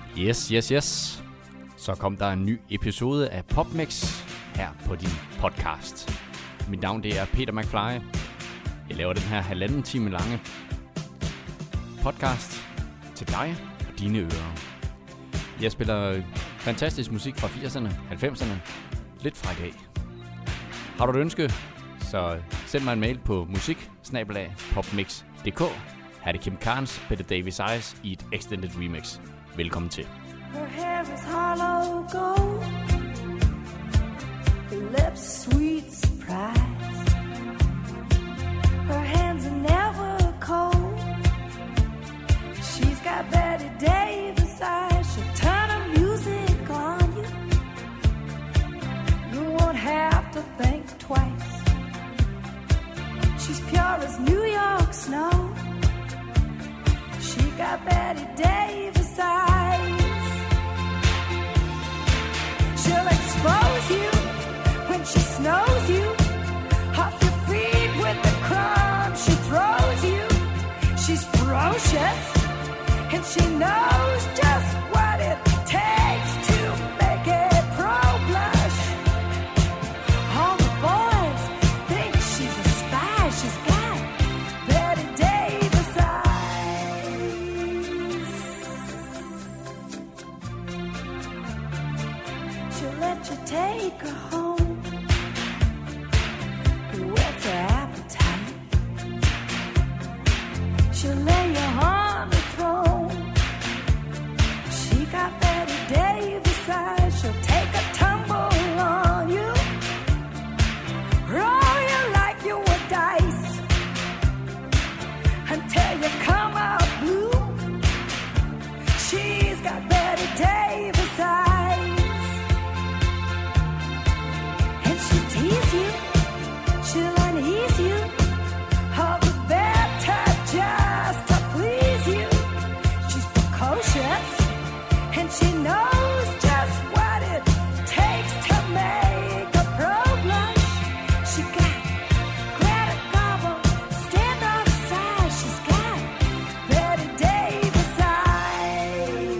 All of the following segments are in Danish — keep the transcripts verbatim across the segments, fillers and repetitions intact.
Yes, yes, yes. Så kom der en ny episode af PopMix her på din podcast. Mit navn det er Peter McFly. Jeg laver den her halvanden time lange podcast til dig og dine ører. Jeg spiller fantastisk musik fra firserne, halvfemserne, lidt fra i dag. Har du et ønske, så send mig en mail på musik bindestreg popmix punktum d k. Her er det Kim Carnes, Peter Davis Eyes i et extended remix. Velkommen til. Her hair is hollow gold, her lips sweet surprise, her hands are never cold, she's got Betty Davis eyes, she'll turn her music on you, you won't have to think twice, she's pure as New York snow, she got Betty Davis eyes. She'll expose you when she snows you off your feet with the crumbs she throws you. She's ferocious and she knows just what it takes to make a pro blush. All the boys think she's a spy. She's got Betty Davis eyes. She'll let you take her home, whet's her appetite. She'll lay you on the throne. She got Betty Davis eyes. She'll take a tumble on you, roll you like you were dice, until you come out blue. She's got Betty Davis eyes. Tease you, she'll unease you, all the better just to please you. She's precocious, and she knows just what it takes to make a pro blush. She got Greta Garbo, stand off side. She's got Betty Davis eyes.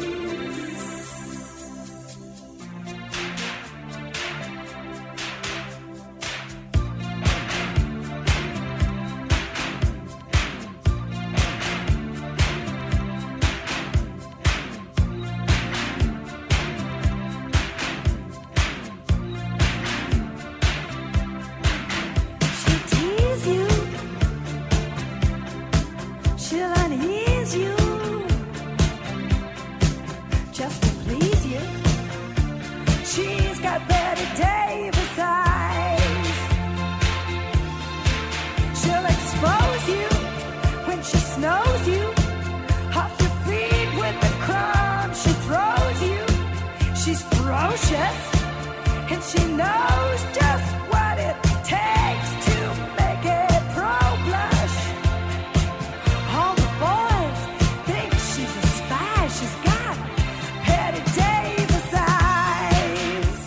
And she knows just what it takes to make a pro blush. All the boys think she's a spy. She's got Betty Davis eyes.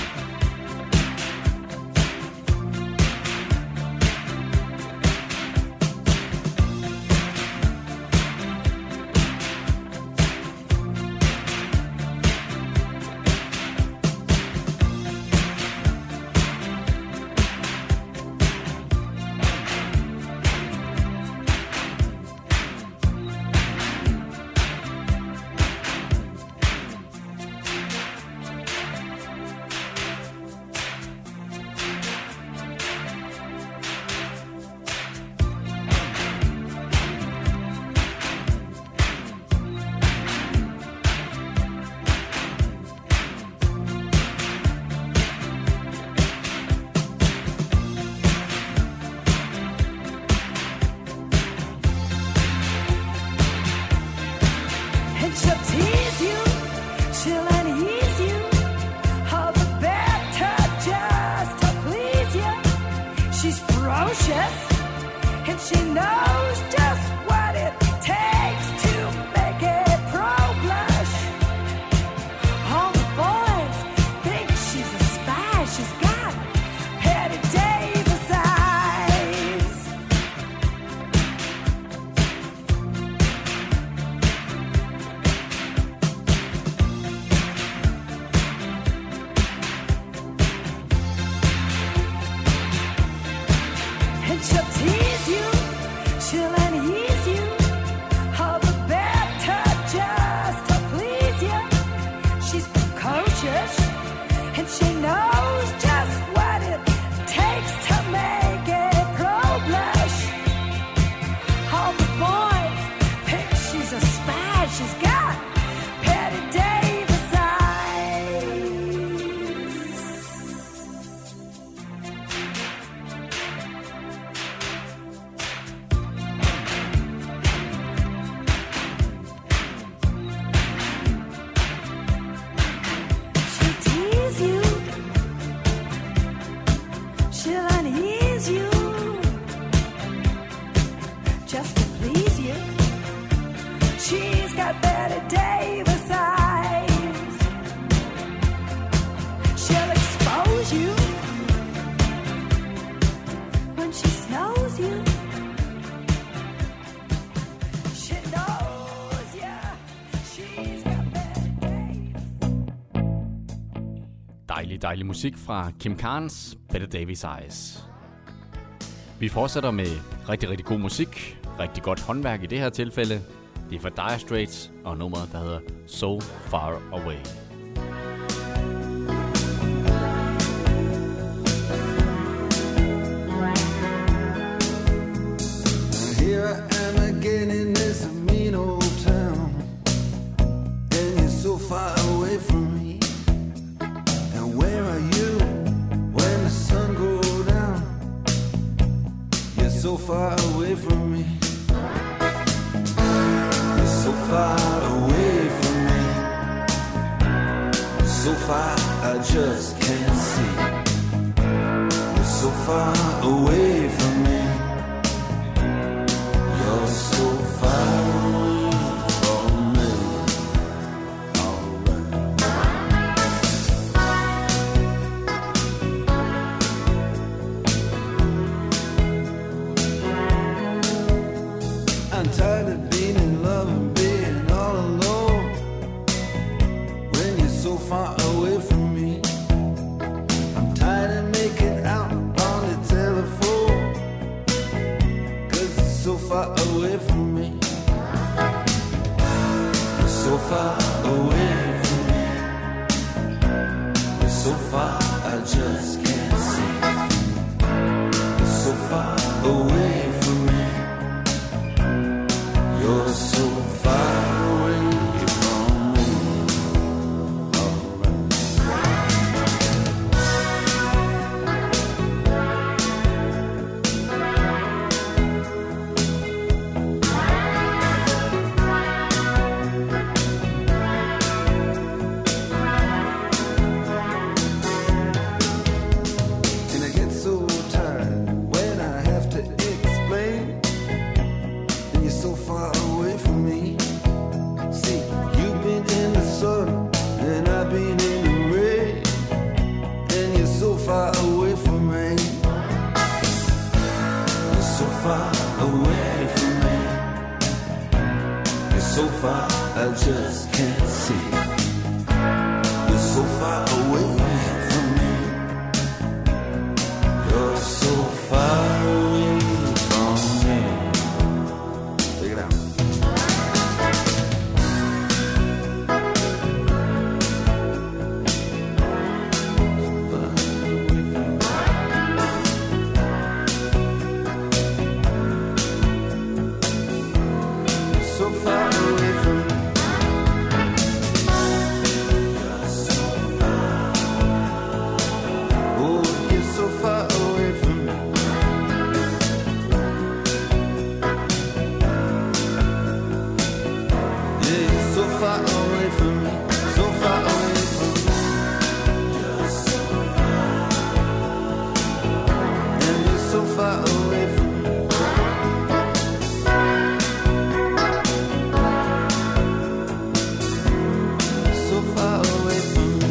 And she knows just what it takes to make a pro blush. All the boys think she's a spy. She's got Betty Davis eyes. Dejlig, dejlig musik fra Kim Carnes, Better Davis Eyes. Vi fortsætter med rigtig, rigtig god musik. Rigtig godt håndværk i det her tilfælde. Det er fra Dire Straits og nummeret, der hedder So Far Away. Here I am again in this mean old town, and you're so far away from me. And where are you when the sun goes down? You're so far away from me. You're so far away from me. So far I just can't see. You're so far away from me. You're so far away from me. Alright. I'm tired of being in love and being all alone when you're so far away from me. I'm tired of making out on the telephone, 'cause it's so far away from me. You're so far away from me. You're so far I just can't see. You're so far away from me. You're so far away from me. And I get so tired when I have to explain, and you're so far away from me. See, you've been in the sun and I've been in the rain, and you're so far away from me. You're so far away from me. You're so far I just can't see. You're so far away from me. You're so far away from me. Take it out. So far away from me. Oh, you're so far away from me. Yeah, you're so far away from me. So far away from me. And you're so far away from me. So far away from me.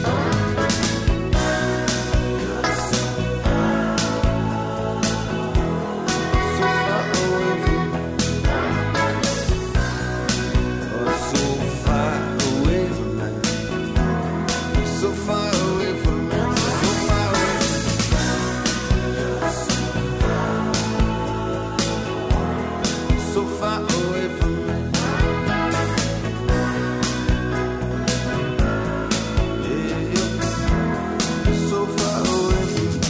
So far away from me. Oh, so far away from me. So far away from me. So far away. So far away from me. Yeah, you're so far away from me.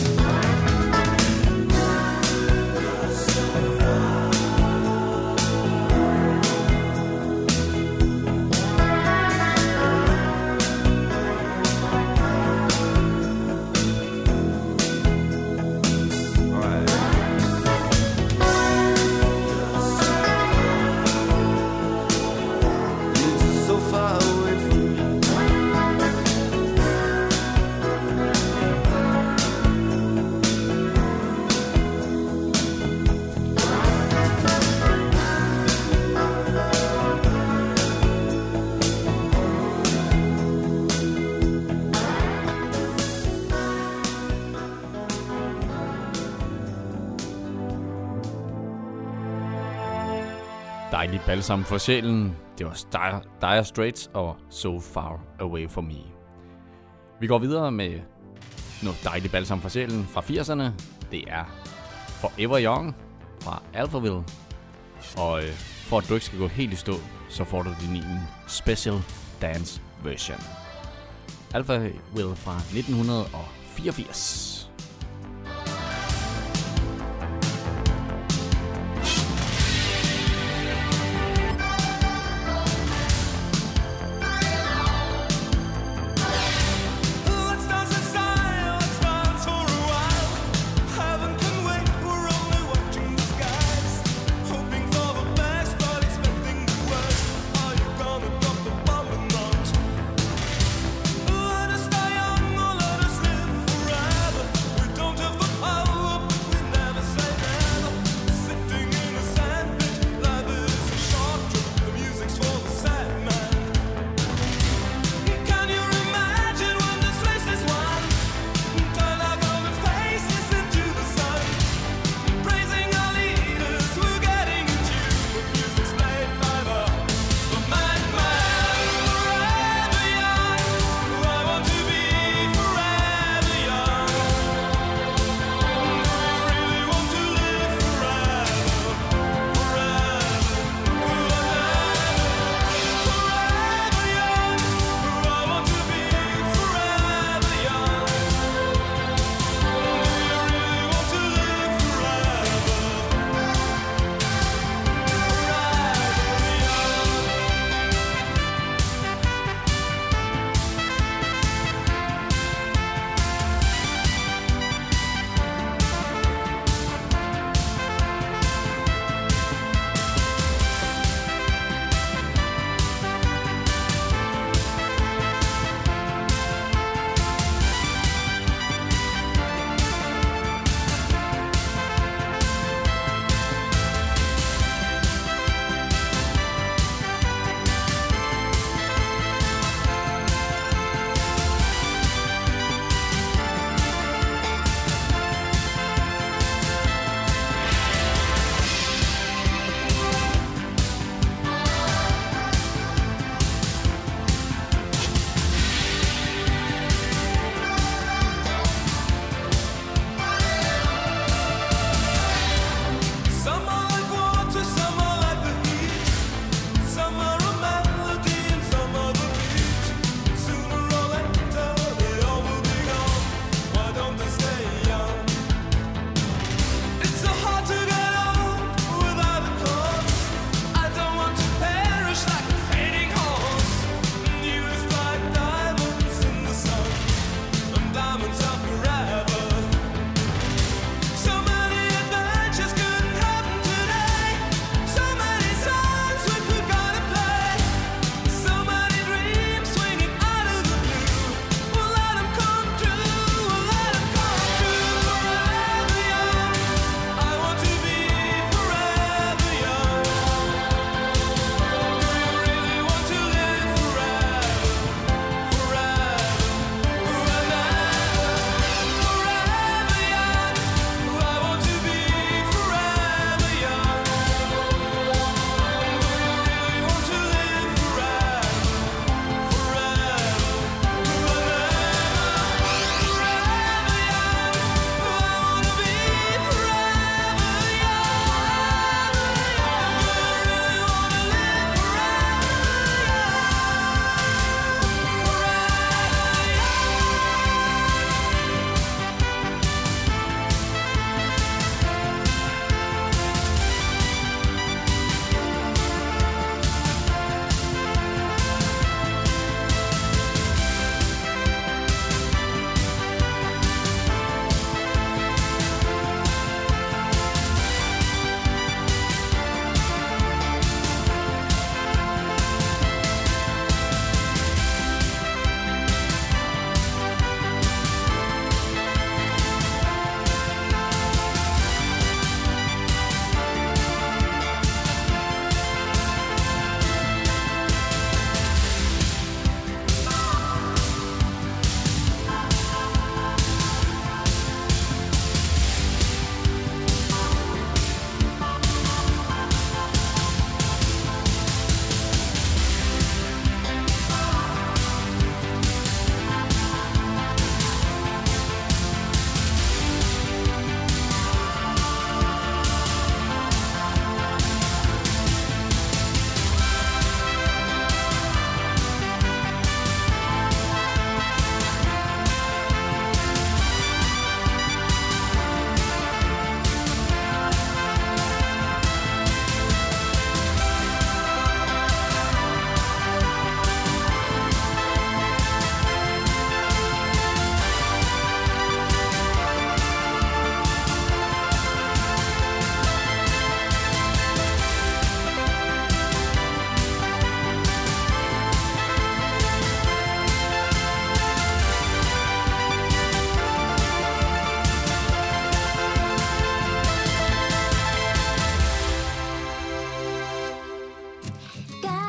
All right. You're just so far away from me. Dejlig balsam for sjælen. Det var Dire, Dire Straits og So Far Away From Me. Vi går videre med noget dejligt balsam for sjælen fra firserne. Det er Forever Young fra Alphaville. Og øh, for at du ikke skal gå helt i stå, så får du din egen special dance version. Alphaville fra nitten fireogfirs. Forever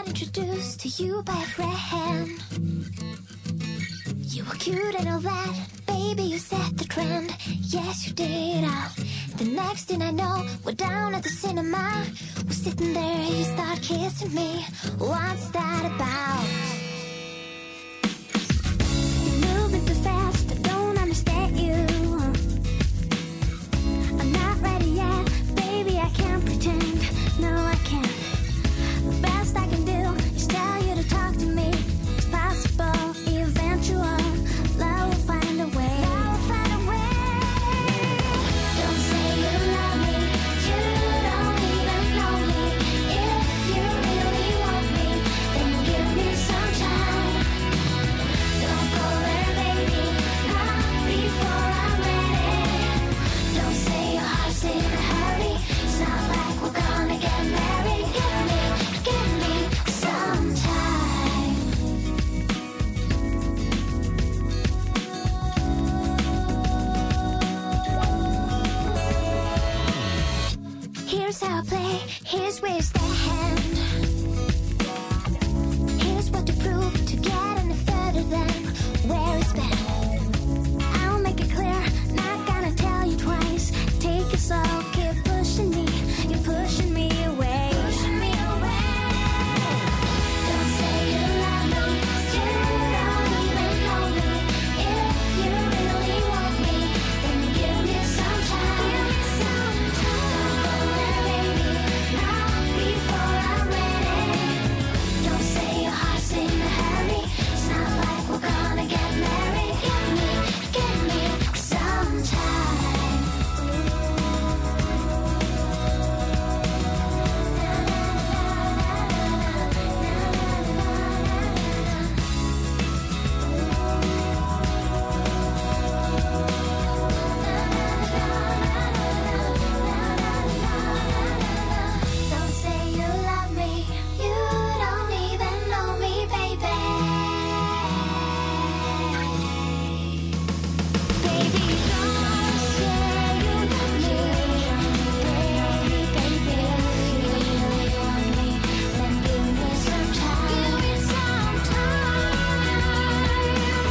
got introduced to you by a friend. You were cute and all that, baby, you set the trend. Yes, you did. Uh, the next thing I know, we're down at the cinema. We're sitting there, you start kissing me. What's that about? You're moving too fast, I don't understand you. I'm not ready yet, baby, I can't pretend. No, I can't. The best I can do is tell you to talk to me. It's possible, eventual. Love will find a way. Love will find a way. Don't say you love me. You don't even know me. If you really want me, then give me some time. Don't go there, baby. Not before I'm ready. Don't say your heart's in a hurry. It's not like we're gonna get married. Give me, give me some time. Here's how I play, here's where you stand. Here's what to prove to get any further than where it's been. I'll make it clear, not gonna tell you twice. Take it slow, keep pushing me, you're pushing me away. Pushing me away. Don't say you love me, you don't even know me. If you really want me, then give me some time. Give me some time. Don't go there, baby, not before I'm ready. Don't say your heart's in a hurry. It's not like we're gonna get married. Give me, give me some time. Don't say you love me. You don't even know me, baby. Baby, don't say you love me. Baby, baby, if you really want me, then give me some time. Give me some time.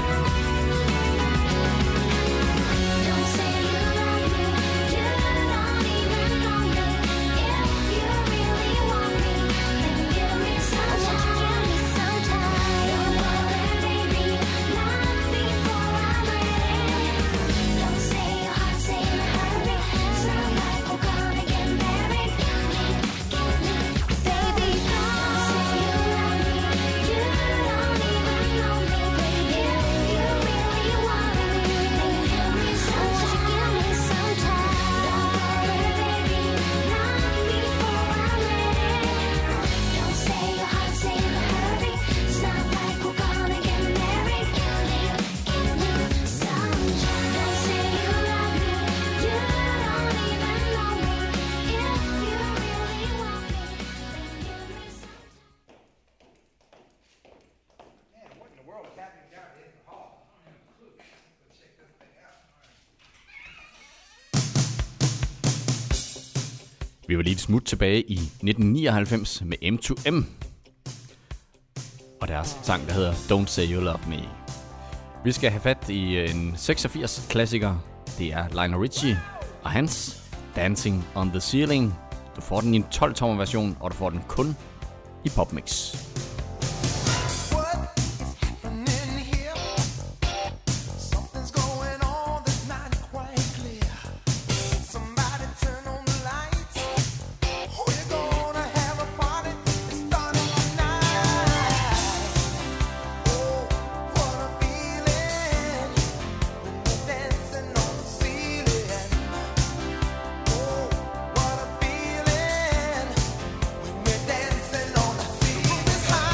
Don't say you love me. You don't even know me. If you really want me, then give me some time. Give me some time. Don't go there, baby, not before I'm ready. Don't say your heart's in a hurry. It's not like we're gonna get married. Give me, give me, baby, don't say you love me. You don't even know me. If you really want me, then give me some time. Give me some time. Don't go there, baby, not before I'm ready. Don't say your heart's in a hurry. It's not like we're gonna get married. Give me, give me some time. Don't say you love me. You don't even know me. If you really want me, then give me some time. Vi var lige et smut tilbage i nitten nioghalvfems med M to M. Og deres sang, der hedder Don't Say You Love Me. Vi skal have fat i en seksogfirs klassiker. Det er Lionel Richie og hans Dancing on the Ceiling. Du får den i en tolv tommer version, og du får den kun i popmix. This high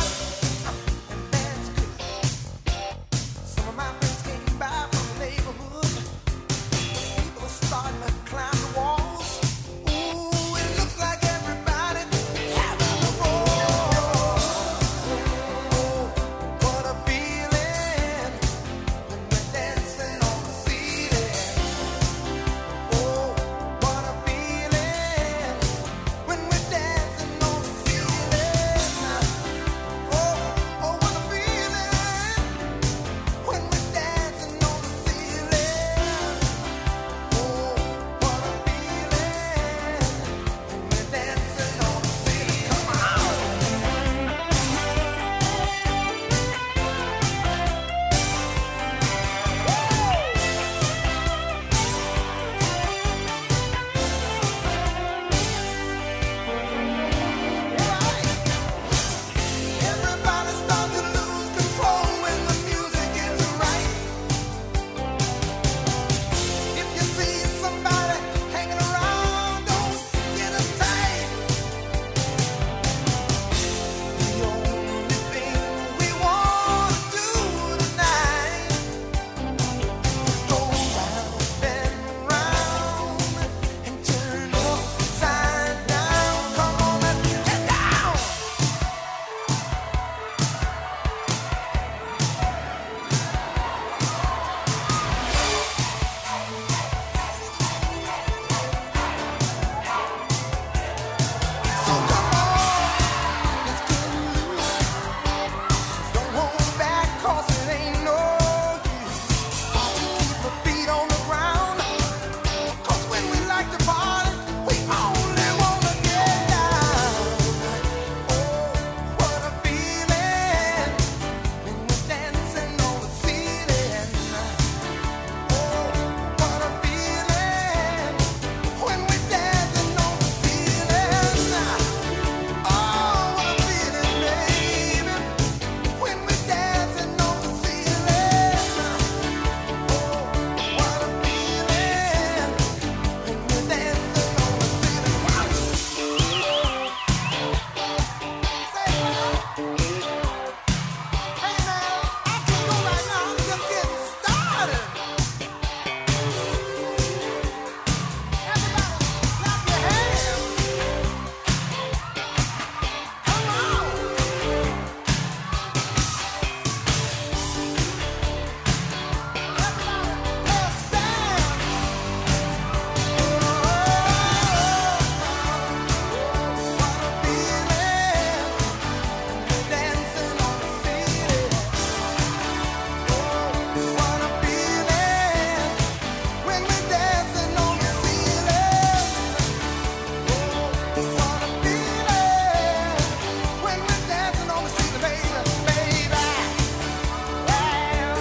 dancing on the street, baby, baby. Well,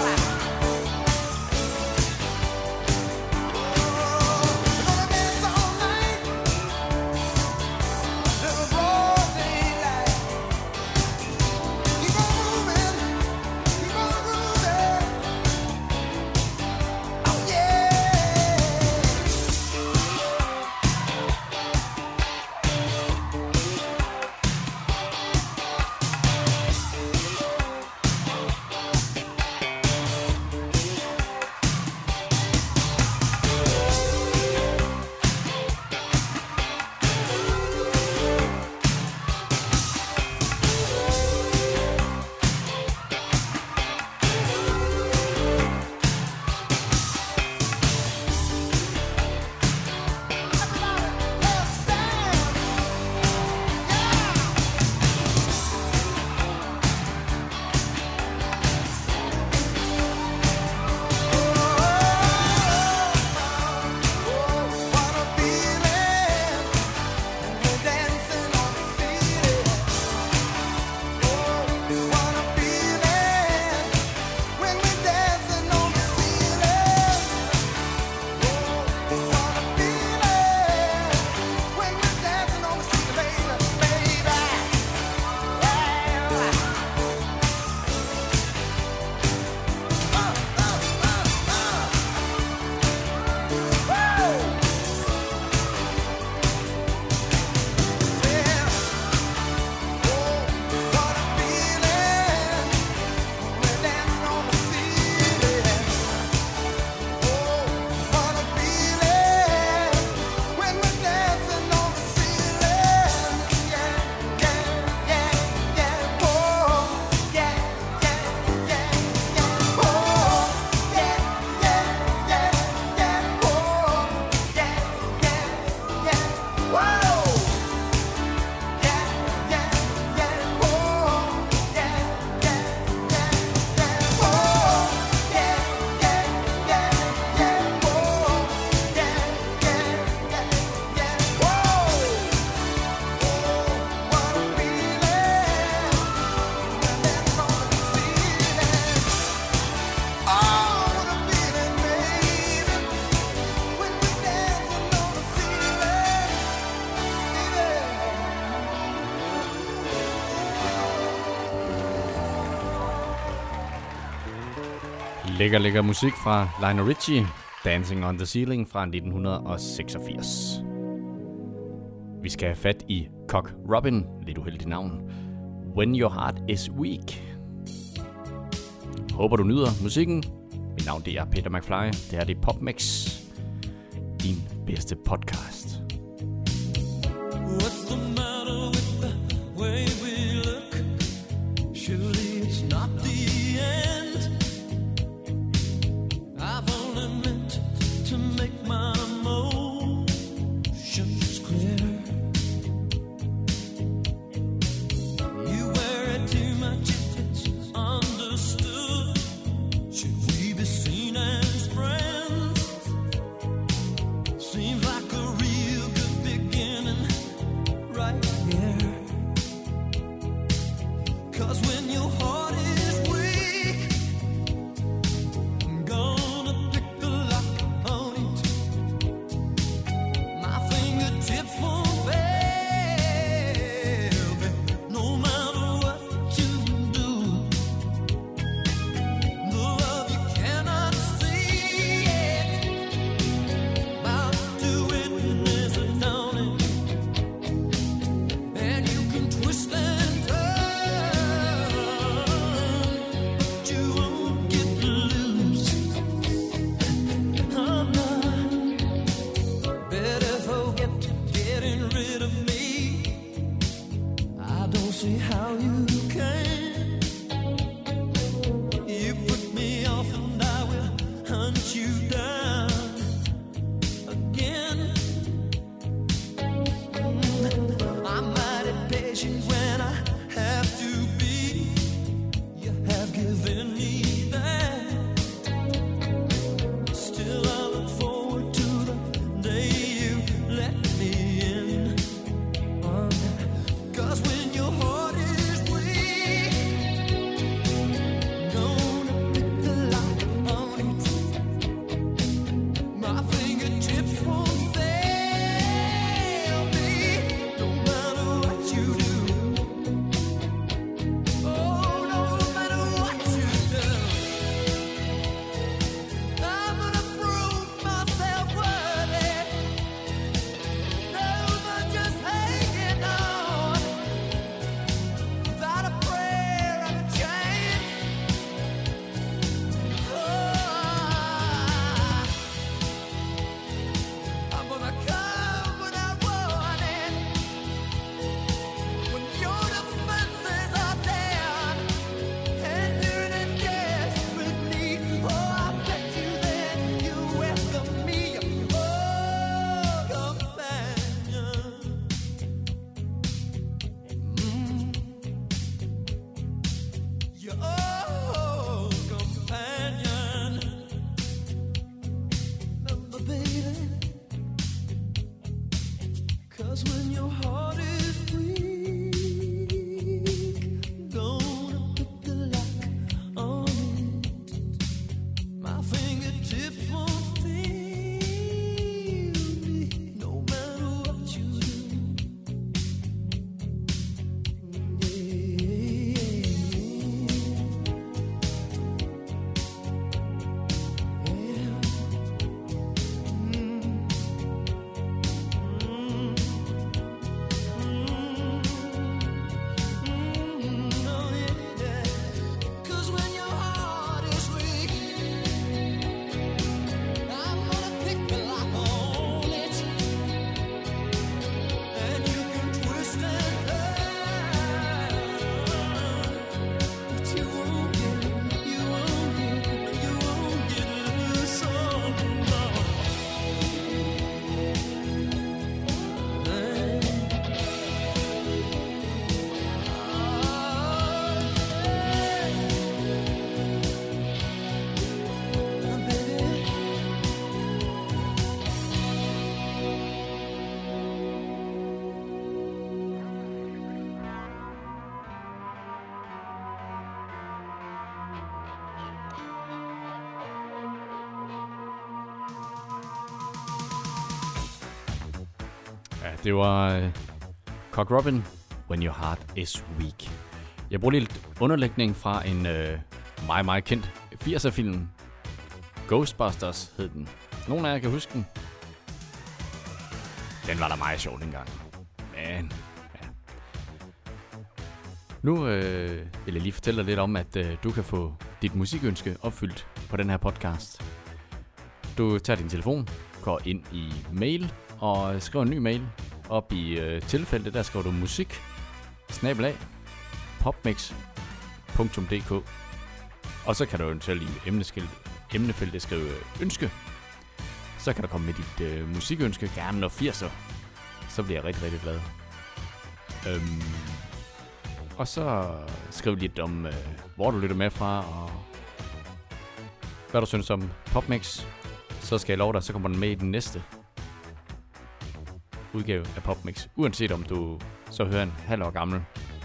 we're gonna dance all night till the broad daylight. Keep on moving, keep on grooving. Oh yeah. Lækker, lækker musik fra Lionel Richie, Dancing on the Ceiling fra nitten seksogfirs. Vi skal have fat i Cock Robin, lidt uheldigt navn, When Your Heart Is Weak. Håber du nyder musikken. Mit navn det er Peter McFly, det her det er PopMix, din bedste podcast. What's the matter with the way we look? Surely it's not the end. I've only meant to make my emotions clear. You wear it too much, it's understood. Should we be seen as friends? Seems like a real good beginning right here. 'Cause when your heart is weak, oh, companion. Remember, baby, 'cause when your heart is weak, gonna put the lock on it. My fingertips won't fail me, no matter what you do. Ja, det var uh, Cock Robin, When Your Heart Is Weak. Jeg bruger lidt underlægning fra en uh, meget, meget kendt firser-film. Ghostbusters hed den. Nogle af jer kan huske den. Den var da meget sjov dengang. Men, ja. Nu øh, vil jeg lige fortælle dig lidt om, at øh, du kan få dit musikønske opfyldt på den her podcast. Du tager din telefon, går ind i mail og skriver en ny mail. Op i øh, tilfældet, der skriver du musik, snabelag, popmix punktum d k. Og så kan du eventuelt i emnefeltet skrive ønske. Så kan du komme med dit øh, musikønske, gerne noget firser. Så bliver jeg rigtig, rigtig glad. Øhm, og så skriv lidt om, øh, hvor du lytter med fra, og hvad du synes om Popmix. Så skal jeg love dig, så kommer den med i den næste udgave af Popmix. Uanset om du så hører en halv år gammel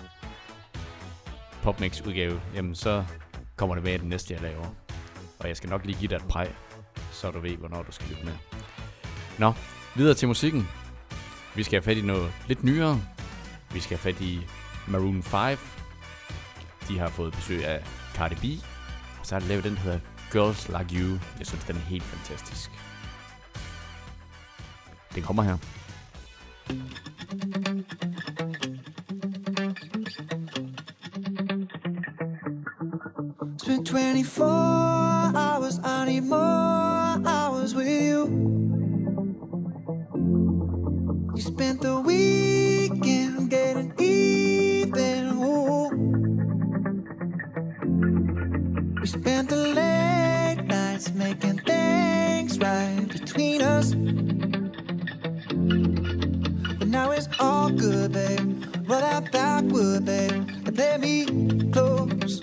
Popmix udgave, jamen så kommer det med i den næste, jeg laver. Og jeg skal nok lige give dig et præg, så du ved, hvornår du skal lytte med. Nå, videre til musikken. Vi skal have fat i noget lidt nyere. Vi skal have fat i Maroon fem. De har fået besøg af Cardi B. Og så har de lavet den, der hedder Girls Like You. Jeg synes, den er helt fantastisk. Den kommer her. Spent twenty-four hours, I need more hours with you. You spent the weekend getting even, ooh. We spent the late nights making things right between us. But now it's all good, babe. Roll that backward, babe, and play me close.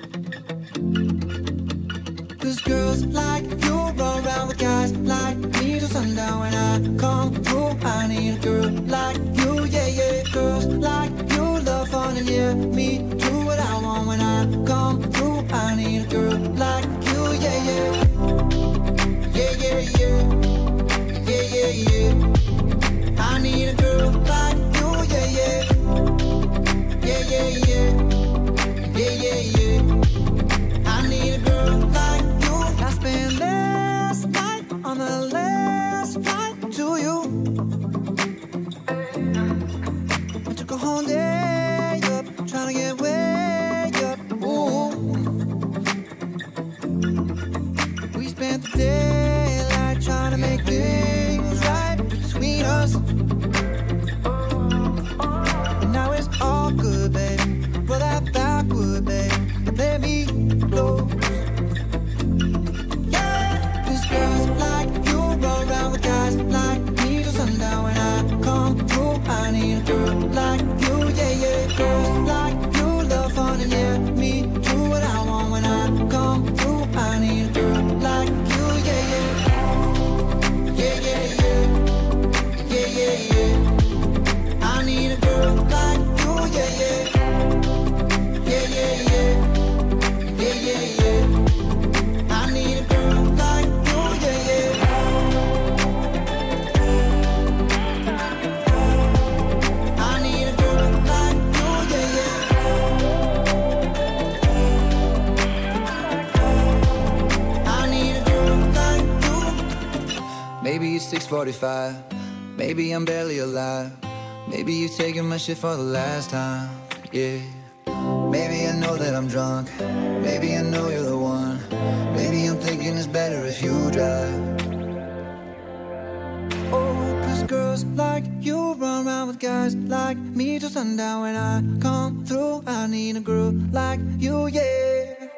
Cause girls like you run around with guys like me till sundown. When I come through, I need a girl like you, yeah, yeah. Girls like you love fun and yeah, me do what I want. When I come through, I need a girl like you, yeah, yeah. Yeah, yeah, yeah. Yeah, yeah, yeah. I need a girl like you, yeah, yeah. Yeah, yeah, yeah. Yeah, six forty-five. Maybe I'm barely alive. Maybe you taking my shit for the last time. Yeah. Maybe I know that I'm drunk. Maybe I know you're the one. Maybe I'm thinking it's better if you drive. Oh, cause girls like you run around with guys like me till sundown. When I come through, I need a girl like you, yeah.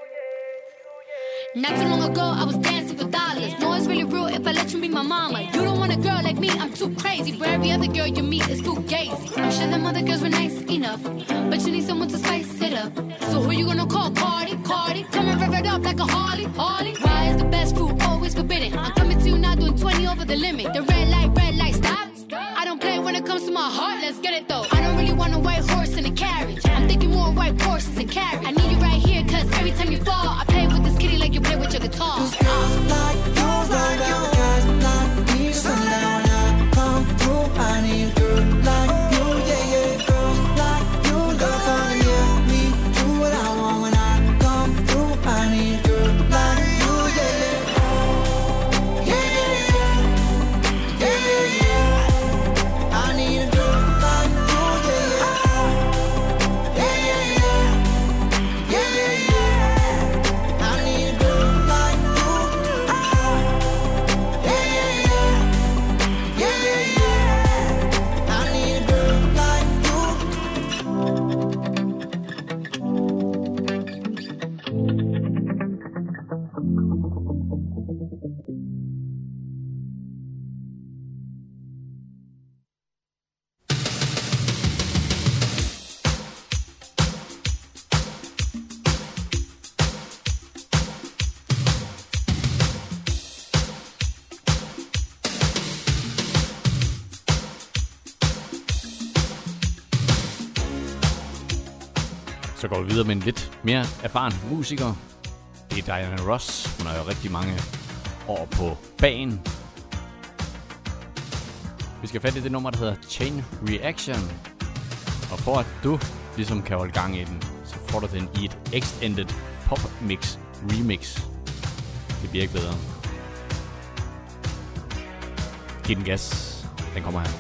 Not too long ago, I was dancing for dollars. No, it's really real if I let you be my mama. You don't want a girl like me, I'm too crazy. Where every other girl you meet is fugazi. I'm sure them other girls were nice enough, but you need someone to spice it up. So who you gonna call? Cardi, Cardi. Come and rev it up like a Harley, Harley. Why is the best food always forbidden? I'm coming to you now doing twenty over the limit. The red light, red light, stop. I don't play when it comes to my heart, let's get it though. I don't really want a white horse in a carriage. I'm thinking more white horses and carriage. I need you right here, cause every time you fall, I play with this kitty like you play with your guitar. Cause girls like you run around with guys like me till sundown. When I come through, I need a girl like you, yeah, yeah. Girls like you love fun, yeah. Me do what I want when I come through. I need a girl like you, yeah, yeah. Yeah, yeah, yeah. Yeah, yeah, yeah. I need a girl like you, yeah, yeah. Yeah, yeah, yeah. Yeah, yeah, yeah. I need a girl like you. Yeah, yeah, yeah. Yeah, yeah, yeah. I need a girl like you. Så går vi videre med en lidt mere erfaren musiker. Det er Diana Ross. Hun har jo rigtig mange år på banen. Vi skal fatte i det nummer, der hedder Chain Reaction. Og for at du ligesom kan holde gang i den, så får du den i et extended pop mix remix. Det bliver ikke bedre. Giv den gas. Den kommer her.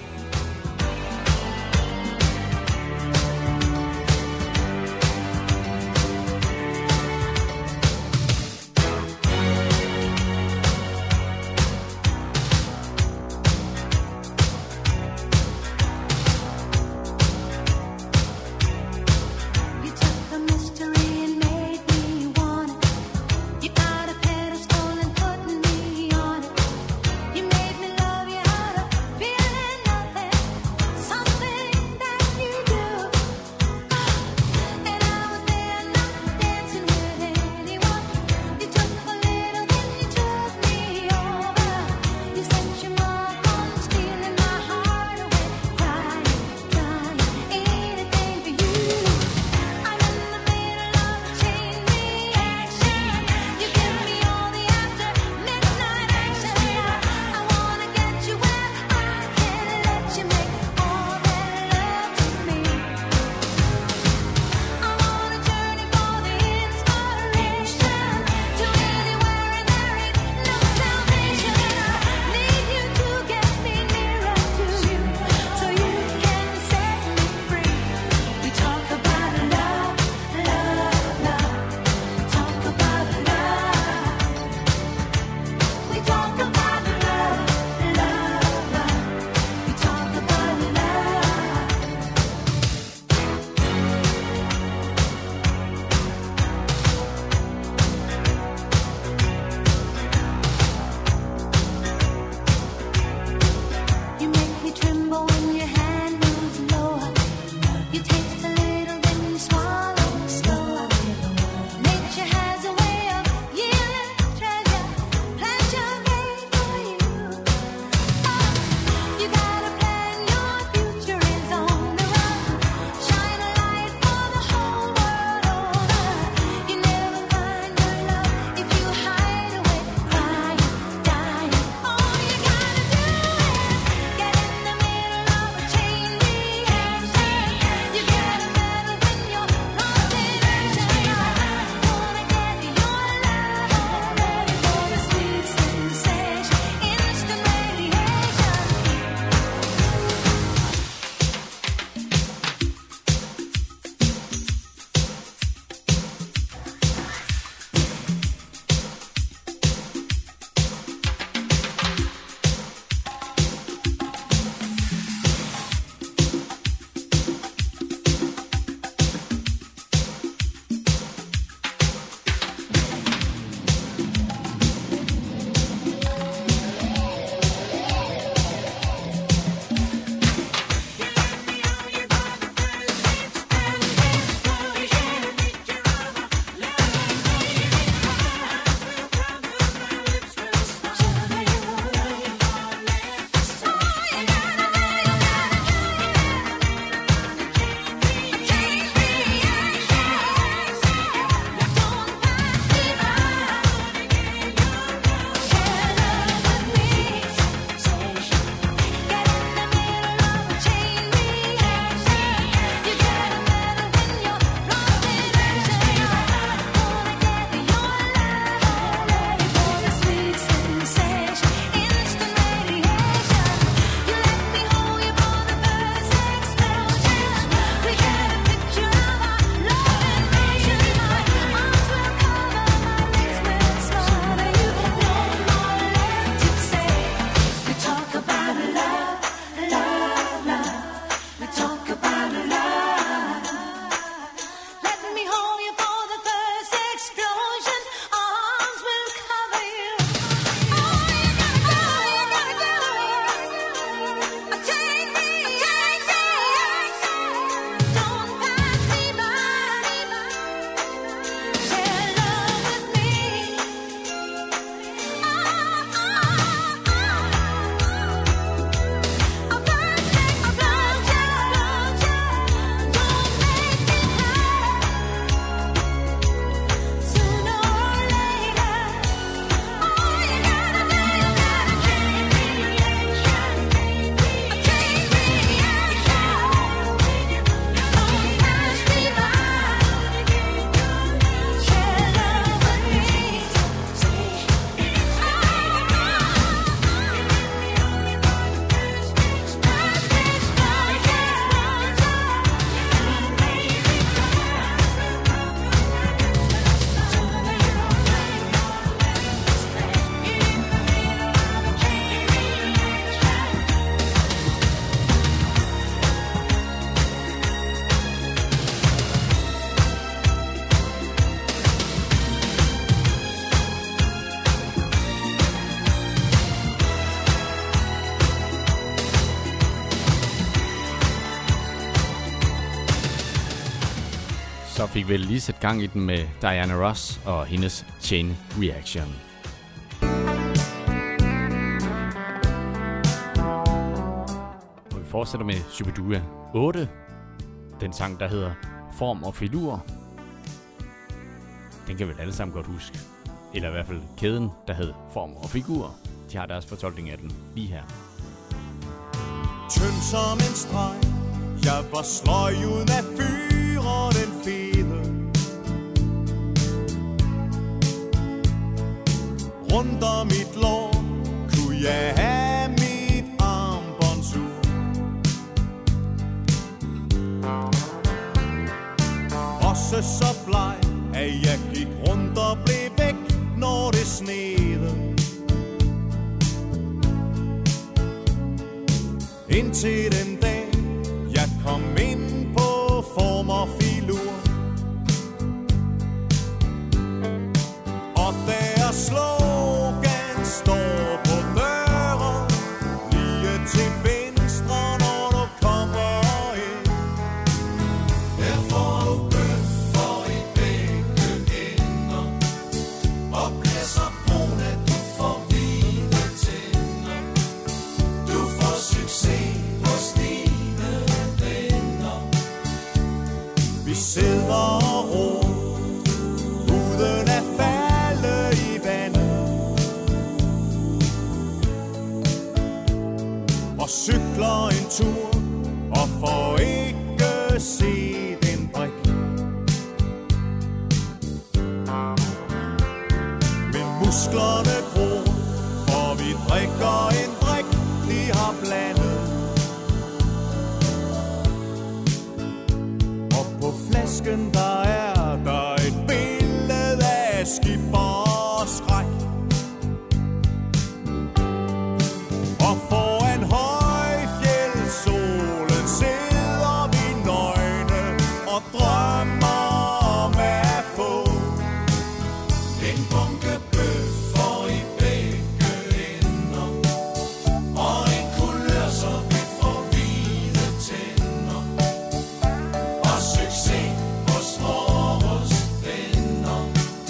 You took the mystery and made me want it. You got a pedestal and put me on it. You made me love you out of feeling. og fik vel lige sat gang i den med Diana Ross og hendes Chain Reaction. Og vi fortsætter med Shubidua otte. Den sang, der hedder Form og Filur. Den kan vel alle sammen godt huske. Eller i hvert fald kæden, der hed Form og Figur. De har deres fortolkning af den lige her. Tynd som en streg, jeg var sløj uden at fyre den fede. Rundt om mit lår kunne jeg have mit armbåndsur. Også så bleg, at jeg gik rundt og blev væk, når det snede. Indtil den dag, jeg kom ind på Form og Filur. Og deres slogan står på døren, lige til venstre, når du kommer ind. Her får du bøffer i begge ender, og bliver så brun, at du får hvide tænder. Du får succes hos dine venner. Vi sidder og ro, uden at falde i vandet, og cykler en tur, og får ikke set en brik. Men musklerne gror, for vi drikker en drik, de har blandet. Og på flasken der er der et billede af skipper og skræk. Og foran højfjeldsolen sidder vi nøgne og drømmer om at få en bunke bøffer i begge ender, og en kulør, så vi får hvide tænder, og succes hos vores venner.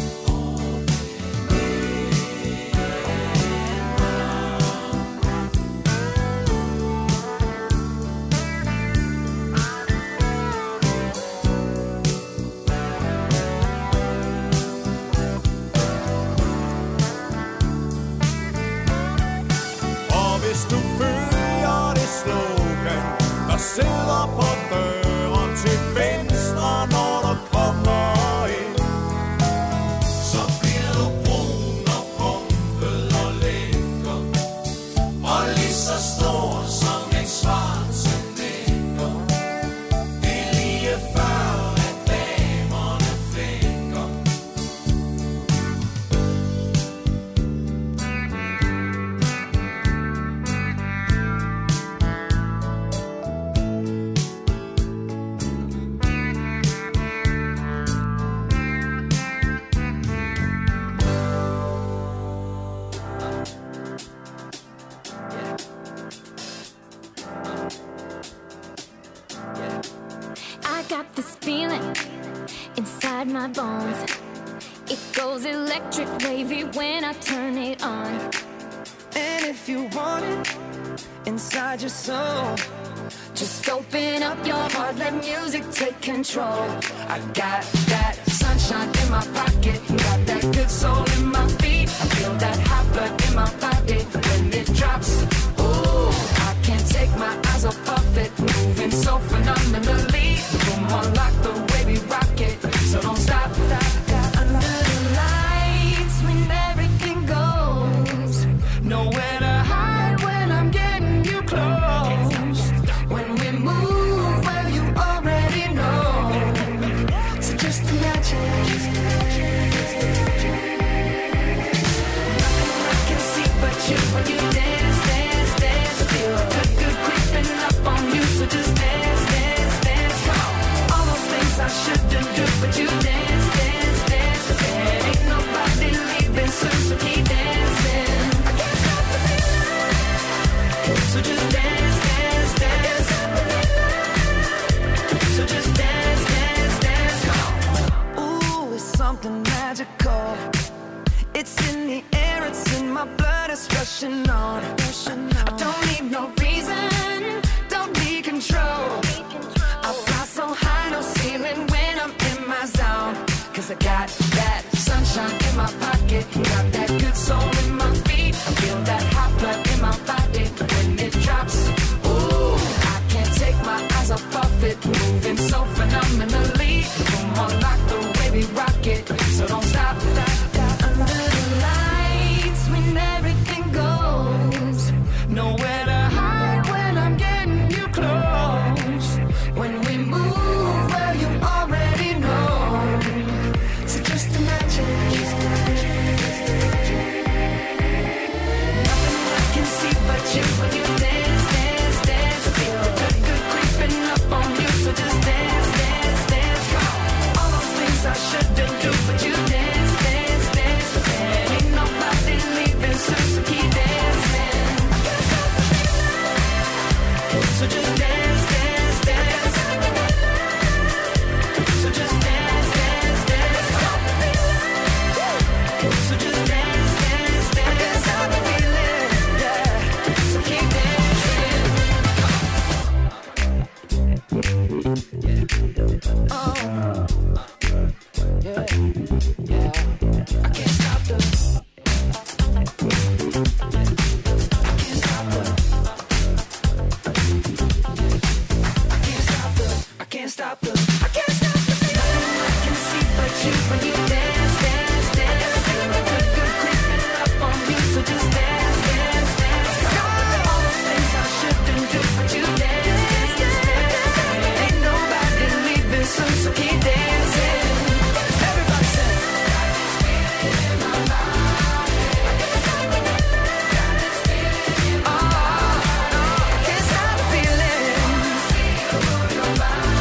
Og hvis du følger det slogan, der sidder på døren til venstre, når du kommer ind, så bliver du brun og pumpet og lækker, og lige så stor som en Schwarzenegger. Det er lige før, at damerne flækker. I got this feeling inside my bones. It goes electric wavy when I turn it on. And if you want it inside your soul, Just open up your heart, let music take control. I got that sunshine in my pocket, got that good soul in my feet. I feel that hot blood in my body when it drops. Ooh, I can't take my eyes off of it, moving so phenomenally. Come on, like the way we rock it, so don't stop. Under the lights when everything goes, nowhere to hide when I'm getting you close. When we move, well you already know. So just imagine, something magical. It's in the air, it's in my blood, it's rushing on. I don't need no reason, don't need control. I fly so high, no ceiling when I'm in my zone. Cause I got that sunshine in my pocket, got that good soul in my feet. I feel that hot blood in my body when it drops. Ooh, I can't take my eyes off of it, moving so phenomenally. Come on, like the way we rock it, so don't stop. Under the lights when everything goes, nowhere to hide when I'm getting you close. When we move, well you already know. So just imagine, nothing I can see but you when you dance, dance, dance. Feel the good, good creeping up on you, so just dance, dance, dance. All those things I shouldn't do, but you dance, dance, dance. And ain't nobody leaving, so, so keep dancing. So just dance, dance, dance. So just dance, dance, dance. So just dance, dance, dance. I can't stop the feeling, yeah. So keep dancing. Oh, yeah, yeah. I can't stop the. I can't stop the. I can't stop the. I can't stop the. Nothing I can see but you when you dance, dance, dance. Feel the good, good creeping up on me, so just dance, dance, dance. All those things I shouldn't do, but you dance, dance, dance. Ain't nobody leaving soon, so keep dancing. Everybody say. Got this feeling in my body. I can't stop the. Got this feeling in my body. Oh, I can't stop the feeling. Move your body.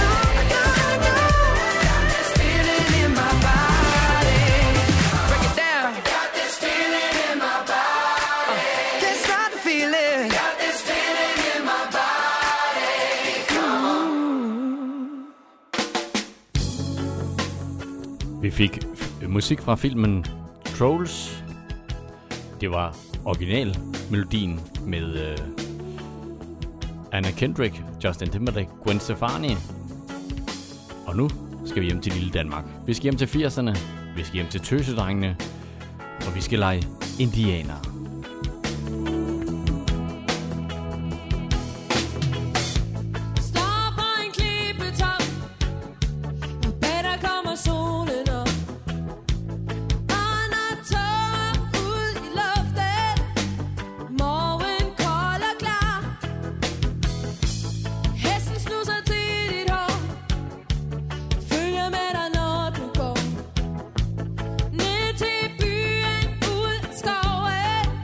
Got this feeling in my body. Break it down. Got this feeling in my body. Can't stop the feeling. Got this feeling in my body. Come on. Vi fik f- musik fra filmen Trolls. Det var originalmelodien med øh, Anna Kendrick, Justin Timberlake, Gwen Stefani. Og nu skal vi hjem til lille Danmark. Vi skal hjem til firserne, vi skal hjem til tøsedrengene, og vi skal lege indianer. Står på en klippetop, og bag der kommer solen op. Og når tåger ud i luften, morgen kold og klar. Hesten snusser til dit hår, følger med dig når du går. Ned til byen, ud i skoven,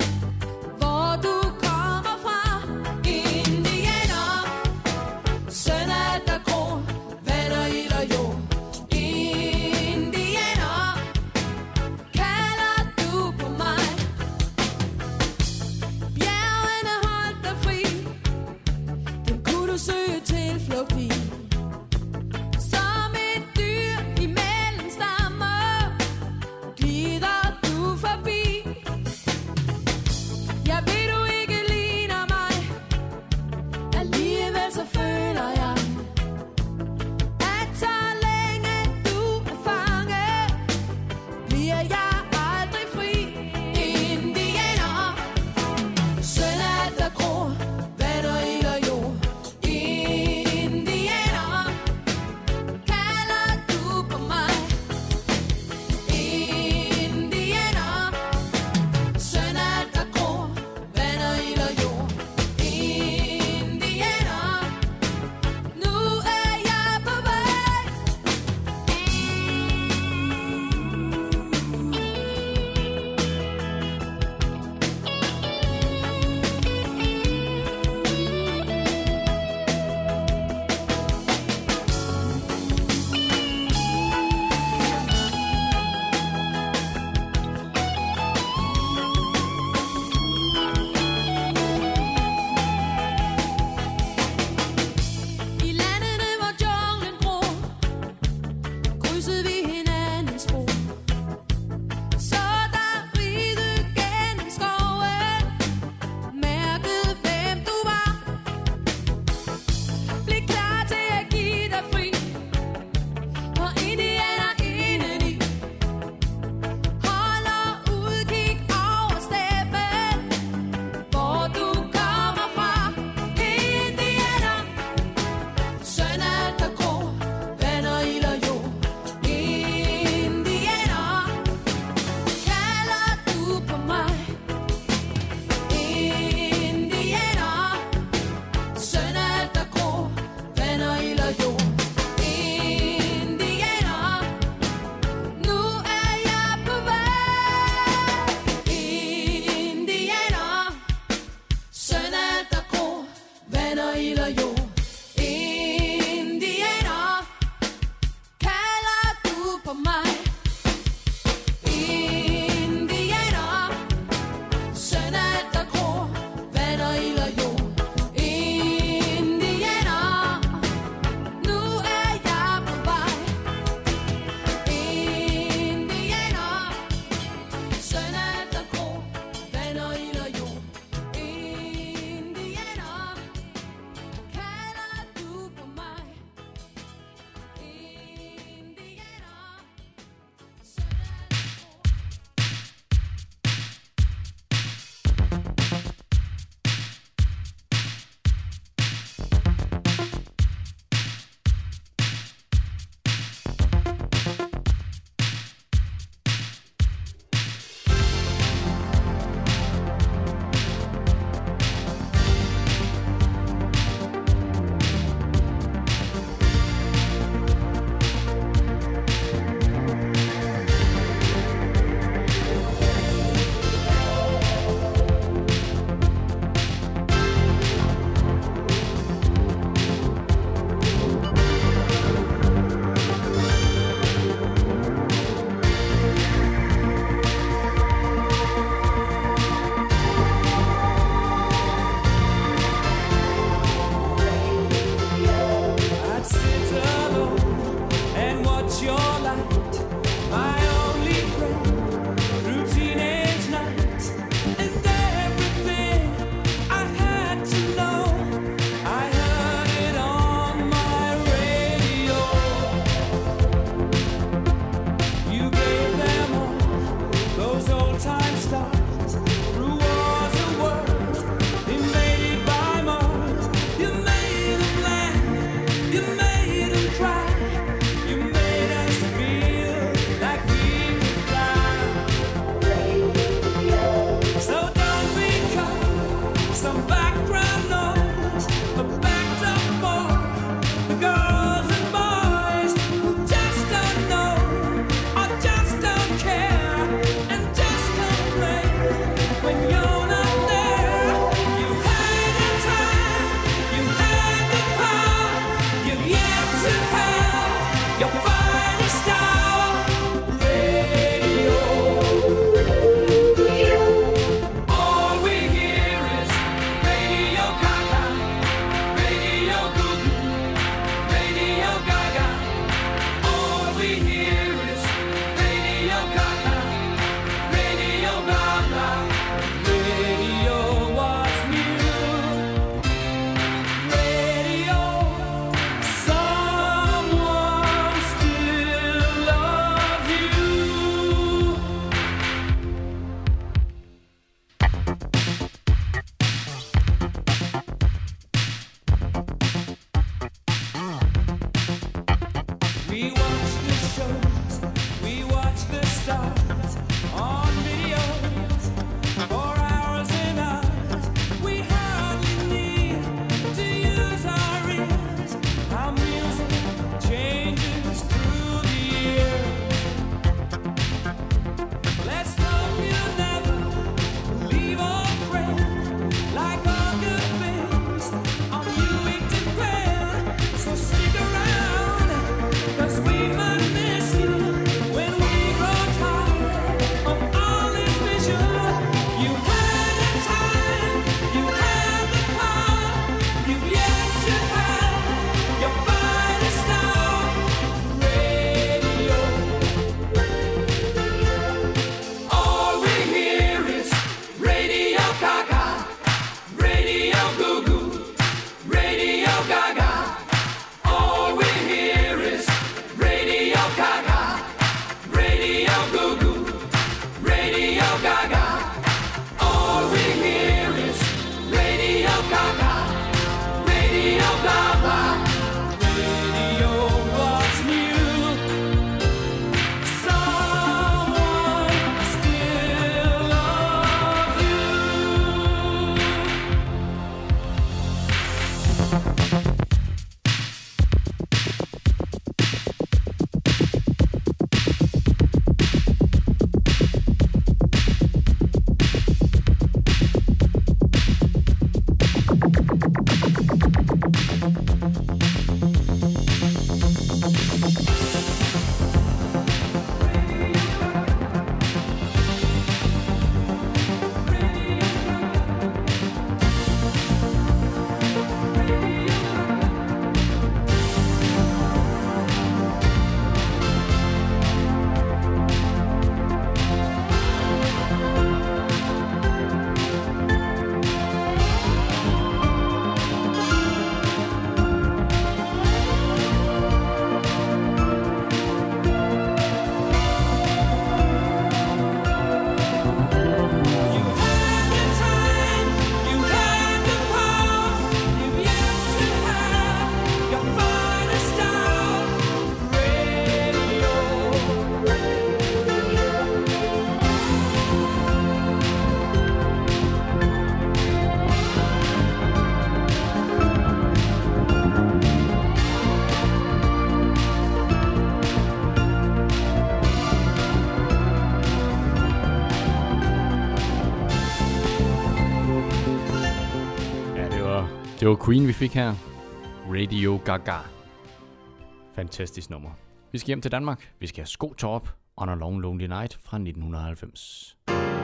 Det var Queen, vi fik her. Radio Gaga. Fantastisk nummer. Vi skal hjem til Danmark. Vi skal have Sko Torp on a Long Lonely Night fra nitten halvfems.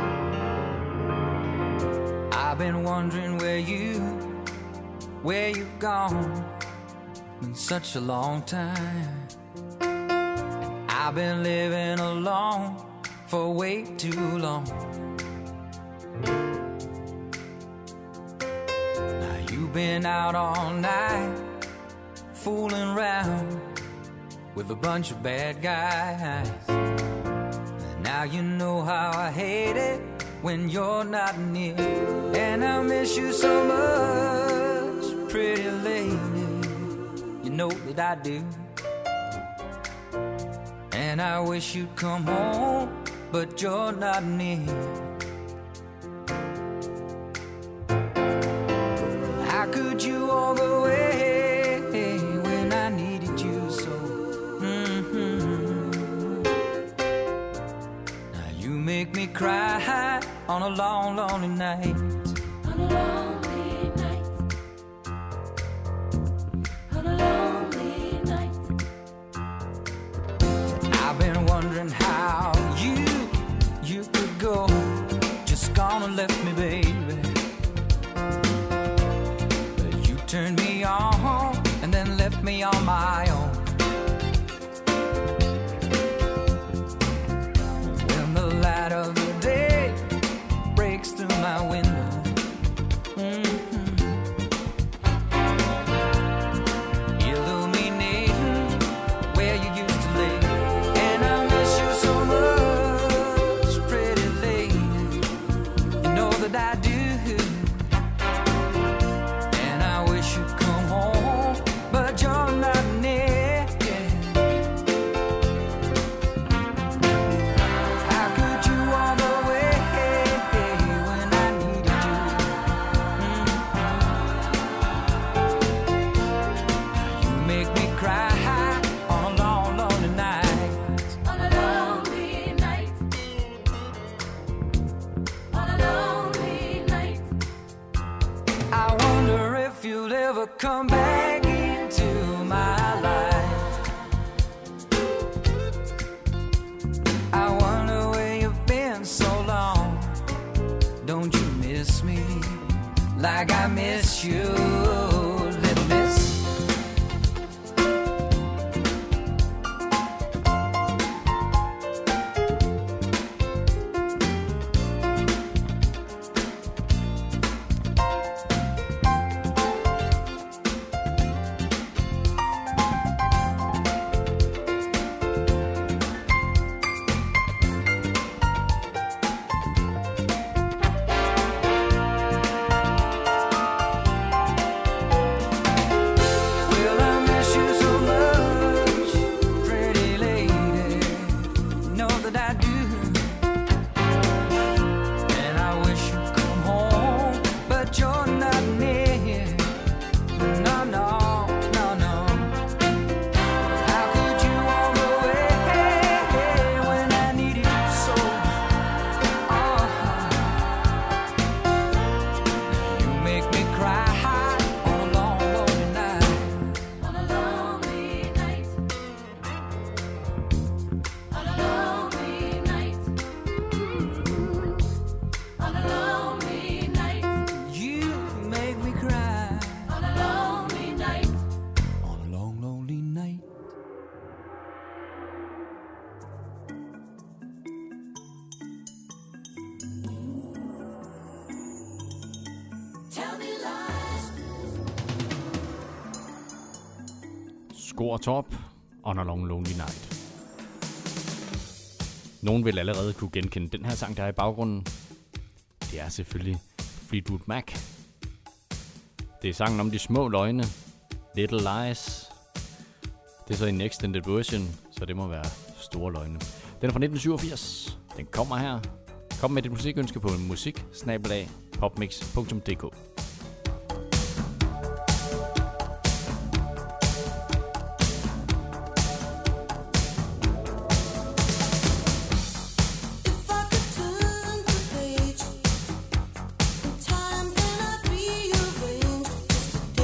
I've been wondering where you, where you've gone in such a long time. I've been living alone for way too long. Now you've been out all night, fooling around with a bunch of bad guys. Now you know how I hate it when you're not near. And I miss you so much, pretty lady. You know that I do. And I wish you'd come home, but you're not near. How could you walk away when I needed you so? Mm-hmm. Now you make me cry on a long, lonely night. On a lonely night. On a lonely night. I've been wondering how you, you could go. Just gone and left me, baby. But you turned me on and then left me on my own. When the light of the day breaks through my window, mm-hmm, illuminating where you used to live. And I miss you so much, pretty lady. You know that I do. And I wish you'd come home, but you're not near. How could you walk away when I needed you? Mm. You make me cry on a long, lonely night. On a lonely night. On a lonely night. I wonder if you'll ever come back into my life. I wonder where you've been so long. Don't you miss me like I miss you, little miss? Well, I miss you so much, pretty lady. You know that I do. And I wish you'd come home, but you're not near. No, no, no, no. How could you walk away when I needed you so? Oh, you make me cry on a long, lonely night. On a lonely night. On a lonely night. On a lonely night. You make me cry. On a lonely night. On a long, lonely night. Tell me lies. Sko og Torp on a Long Lonely Night. Nogen vil allerede kunne genkende den her sang, der er i baggrunden. Det er selvfølgelig Fleetwood Mac. Det er sangen om de små løgne. Little Lies. Det er så en extended version, så det må være store løgne. Den er fra nitten syvogfirs. Den kommer her. Kom med dit musikønske på musik snabel-a popmix punktum d k. If I could turn the page in time, then I'd rearrange just a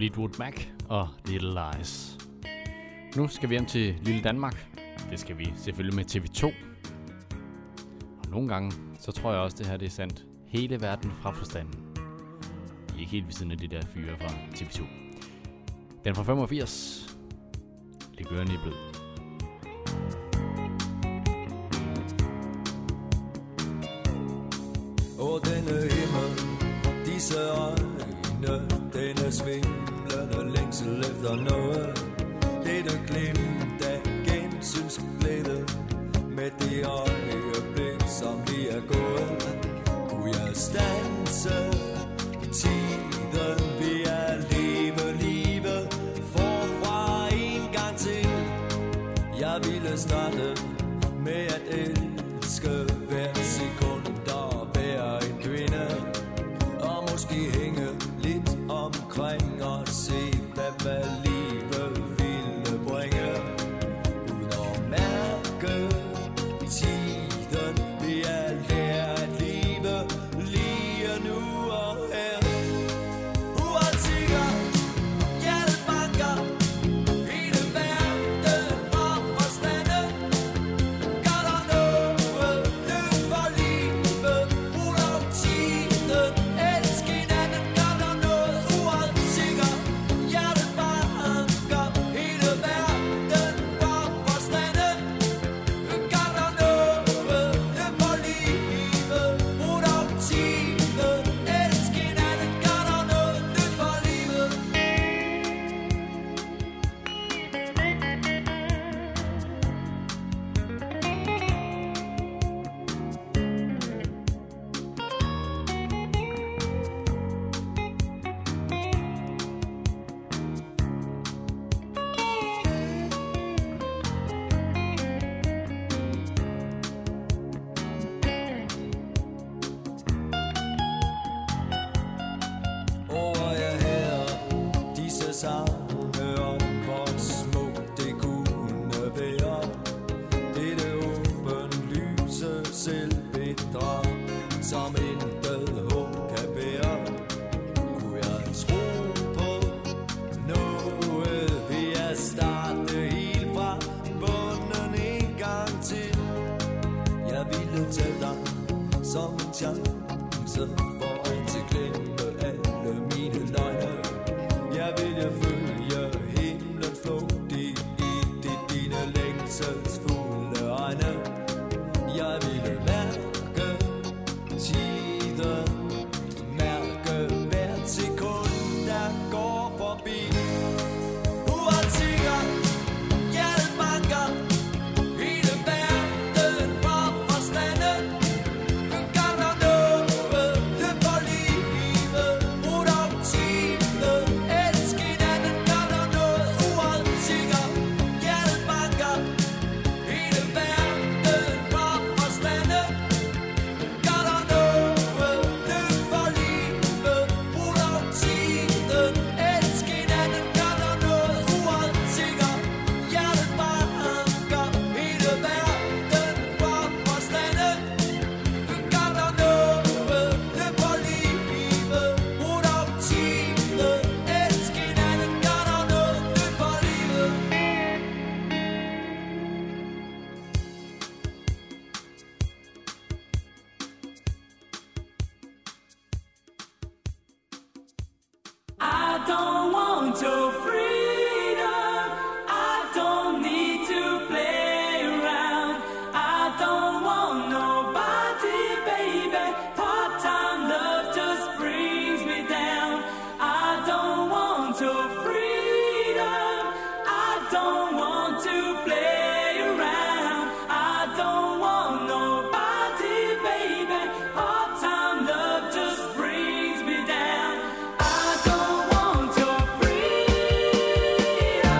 Fleetwood Mac og Little Lies. Nu skal vi hjem til lille Danmark. Det skal vi selvfølgelig med T V to. Og nogle gange, så tror jeg også, det her det er sandt. Hele verden fra forstanden. I er ikke helt ved siden af de der fyre fra T V to. Den er fra femogfirs. Læg ørerne i blød. Og denne himmel, disse øjne, denne svimlende længsel efter noget. Dette glimt af gensynsglæde, med det øjeblik, som vi er gået. Kunne jeg standse tiden, vil jeg leve livet forfra en gang til. Jeg ville starte med at elske hver sekund og være en kvinde, og måske hænge lidt omkring og se, hvad, hvad livet ville bringe. Uden at mærke tiden, vil jeg lære at leve lige nu og her. Uansikker, hjertet banker, hele verden og forstanden. Gør der noget, løb for livet, brug om tiden, elsk hinanden. Gør der noget, uansikker, hjertet banker, hele verden og forstanden. Gør der noget, løb for livet, brug om tiden, elsk hinanden. Gør der noget, løb for livet. Over jeg her disse sange om, hvor smukt det kunne være. Dette åbenlyse selvbedrag, som intet håb kan bære. Kunne jeg tro på noget, vil jeg starte helt fra bunden en gang til. Jeg ville tage dig som en chance for at glemme alle mine løgne. Jeg ville følge himlens flugt i, i de, dine længselsfulde øjne. Jeg ville mærke tiden, mærke hvert sekund, der går forbi. Uansikker, hjertet banker, hele verden fra forstanden. Gør der noget, løb for livet, brug om tiden, elsk hinanden. Gør der noget, uansikker, hjertet banker, hele verden fra forstanden. Gør der noget, løb for livet, brug om tiden, elsk hinanden. Gør der noget, uansikker, hjertet banker, hele verden fra forstanden. Gør der noget, løb for livet, brug om tiden, elsk hinanden. Gør der noget, løb for livet. I don't want your freedom. I don't need to play around. I don't want nobody, baby. Part-time love just brings me down. I don't want your freedom. I don't want to play around. I don't want nobody, baby. Part-time love just brings me down. I don't want your freedom.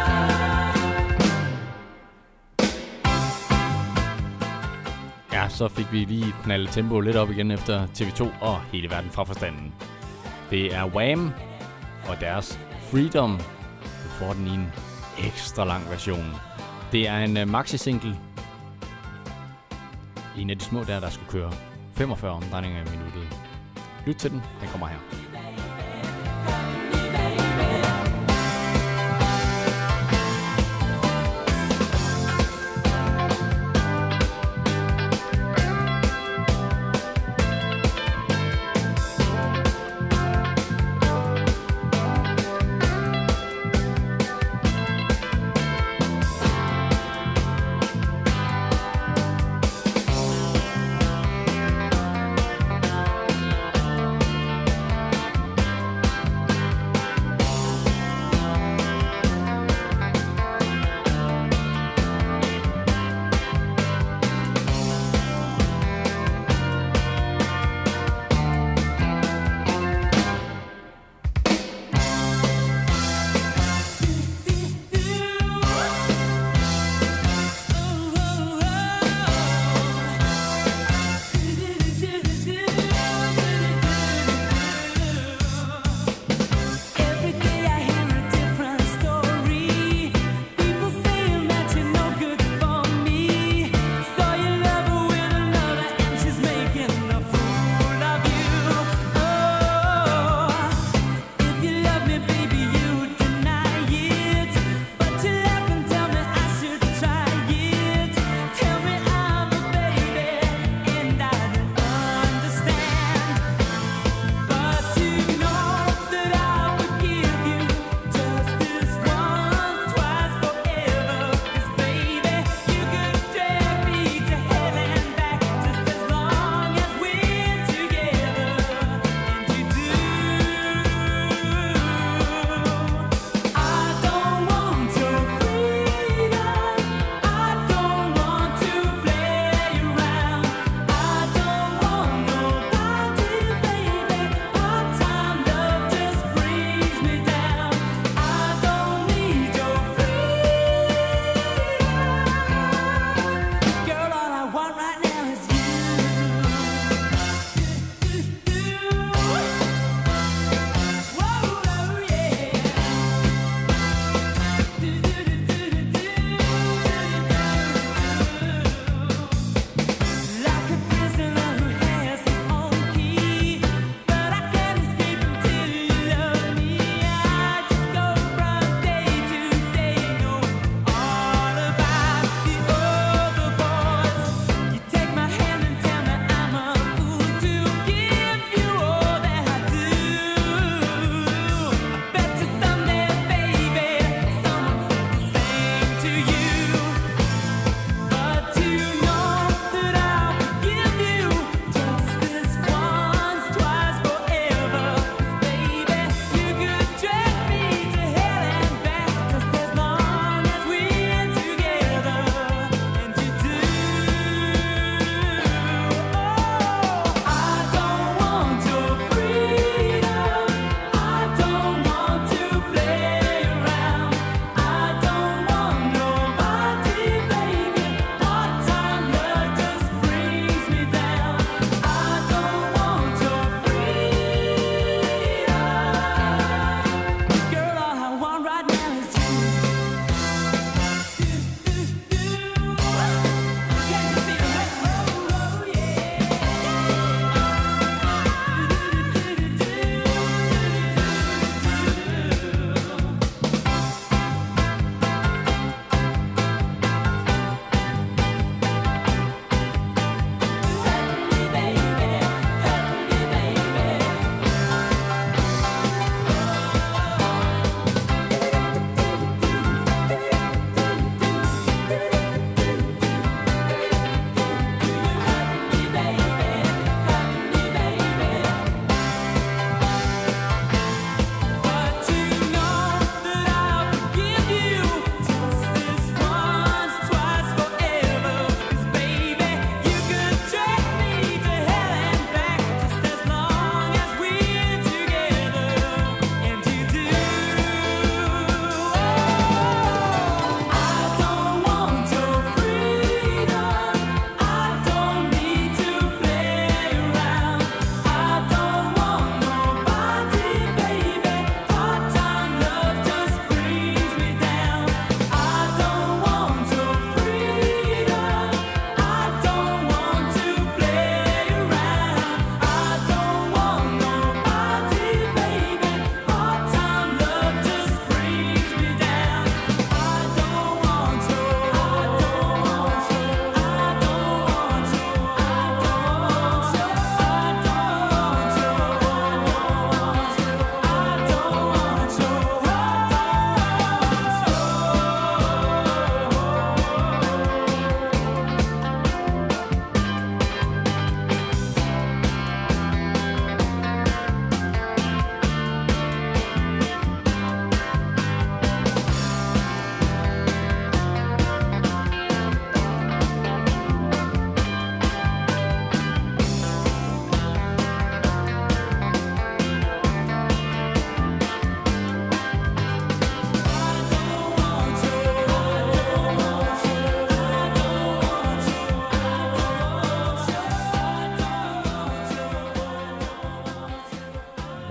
Ja, så fik vi lige knaldet tempoet lidt op igen efter T V to og hele verden fra forstanden. Det er Wham! Og deres Freedom. Du får den i en ekstra lang version. Det er en uh, maxi-single. En af de små der, der skulle køre femogfyrre omdrejninger i minuttet. Lyt til den, den kommer her. Baby,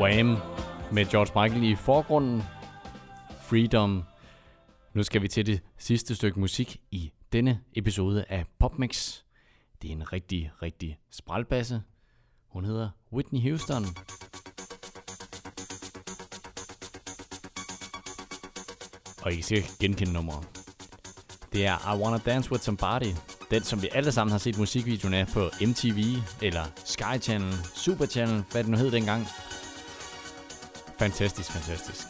Wham! Med George Michael i forgrunden. Freedom. Nu skal vi til det sidste stykke musik i denne episode af PopMix. Det er en rigtig, rigtig sprælbasse. Hun hedder Whitney Houston. Og I kan sikkert genkende nummeret. Det er I Wanna Dance With Somebody. Den, som vi alle sammen har set musikvideoen af på M T V, eller Sky Channel, Super Channel, hvad det nu hed dengang. Fantastisk, fantastisk.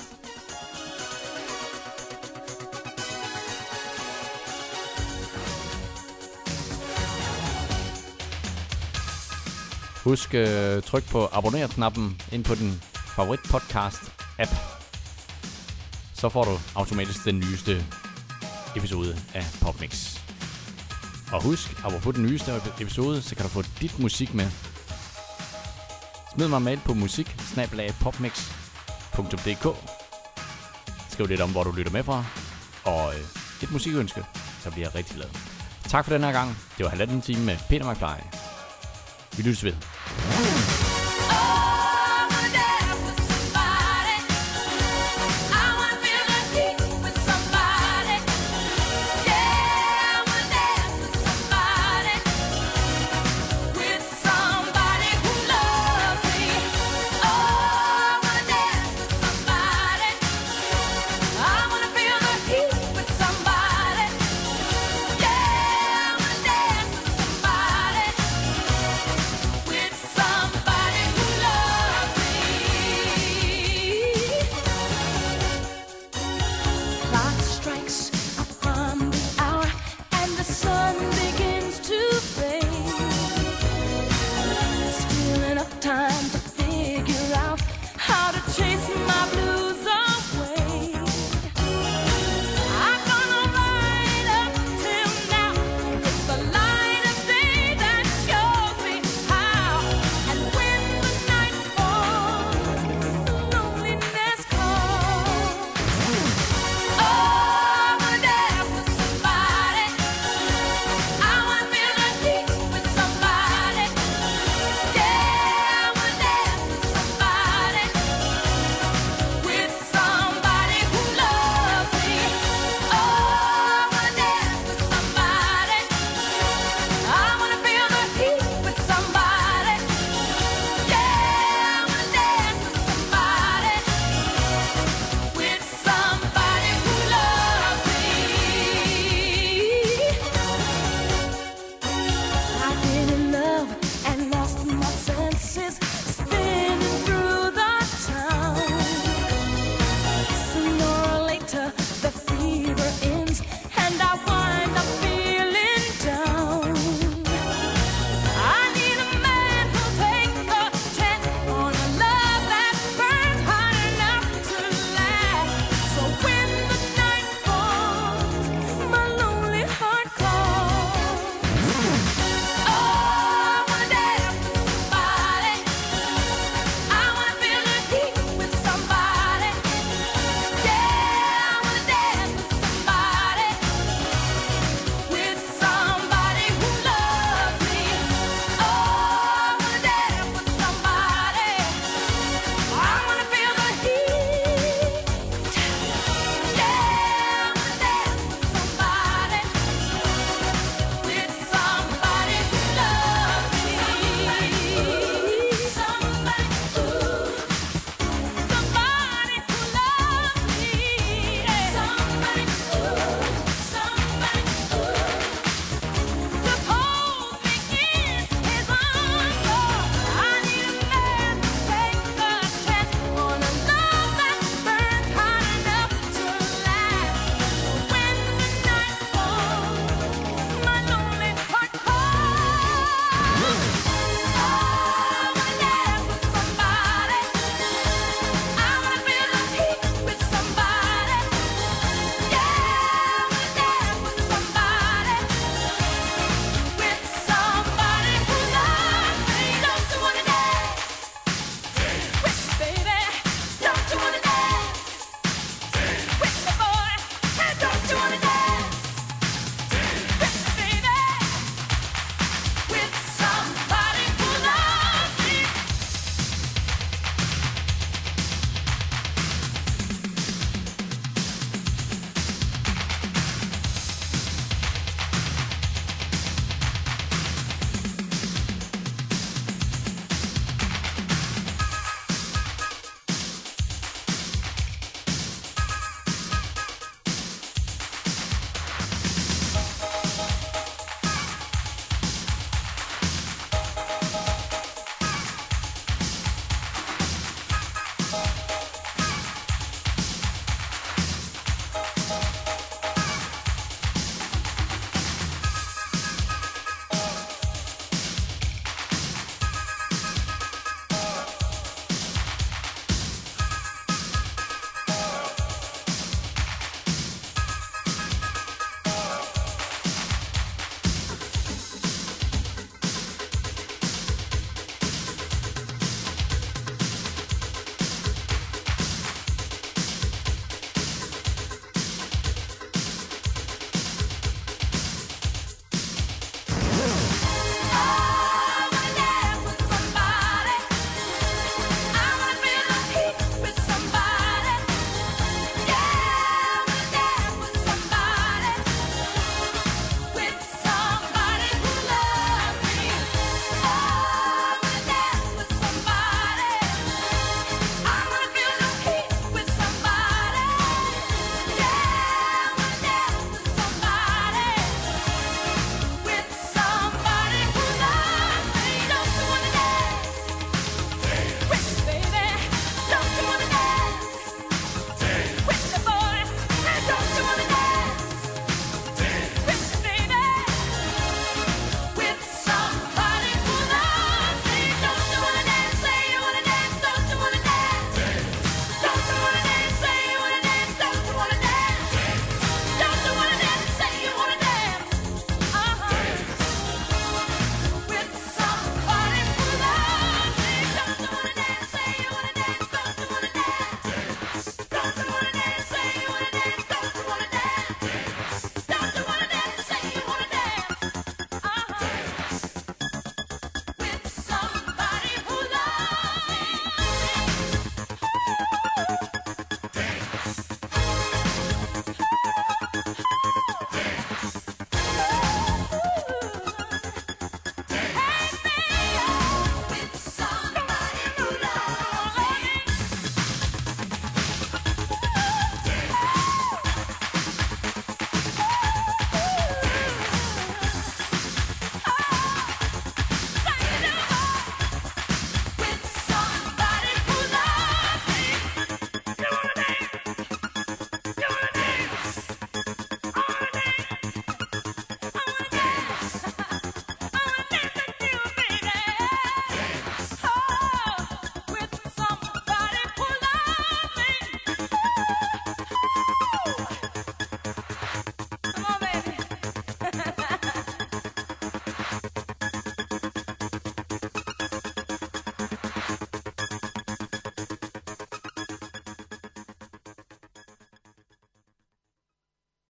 Husk uh, tryk på abonner-knappen ind på din favorit podcast-app. Så får du automatisk den nyeste episode af PopMix. Og husk, apropos den nyeste episode, så kan du få dit musik med. Smid mig en mail på musik bindestreg popmix punktum d k. Skriv lidt om, hvor du lytter med fra. Og øh, et musikønske, så bliver jeg rigtig glad. Tak for den her gang. Det var halvanden time med Peter McFly. Vi lyttes ved.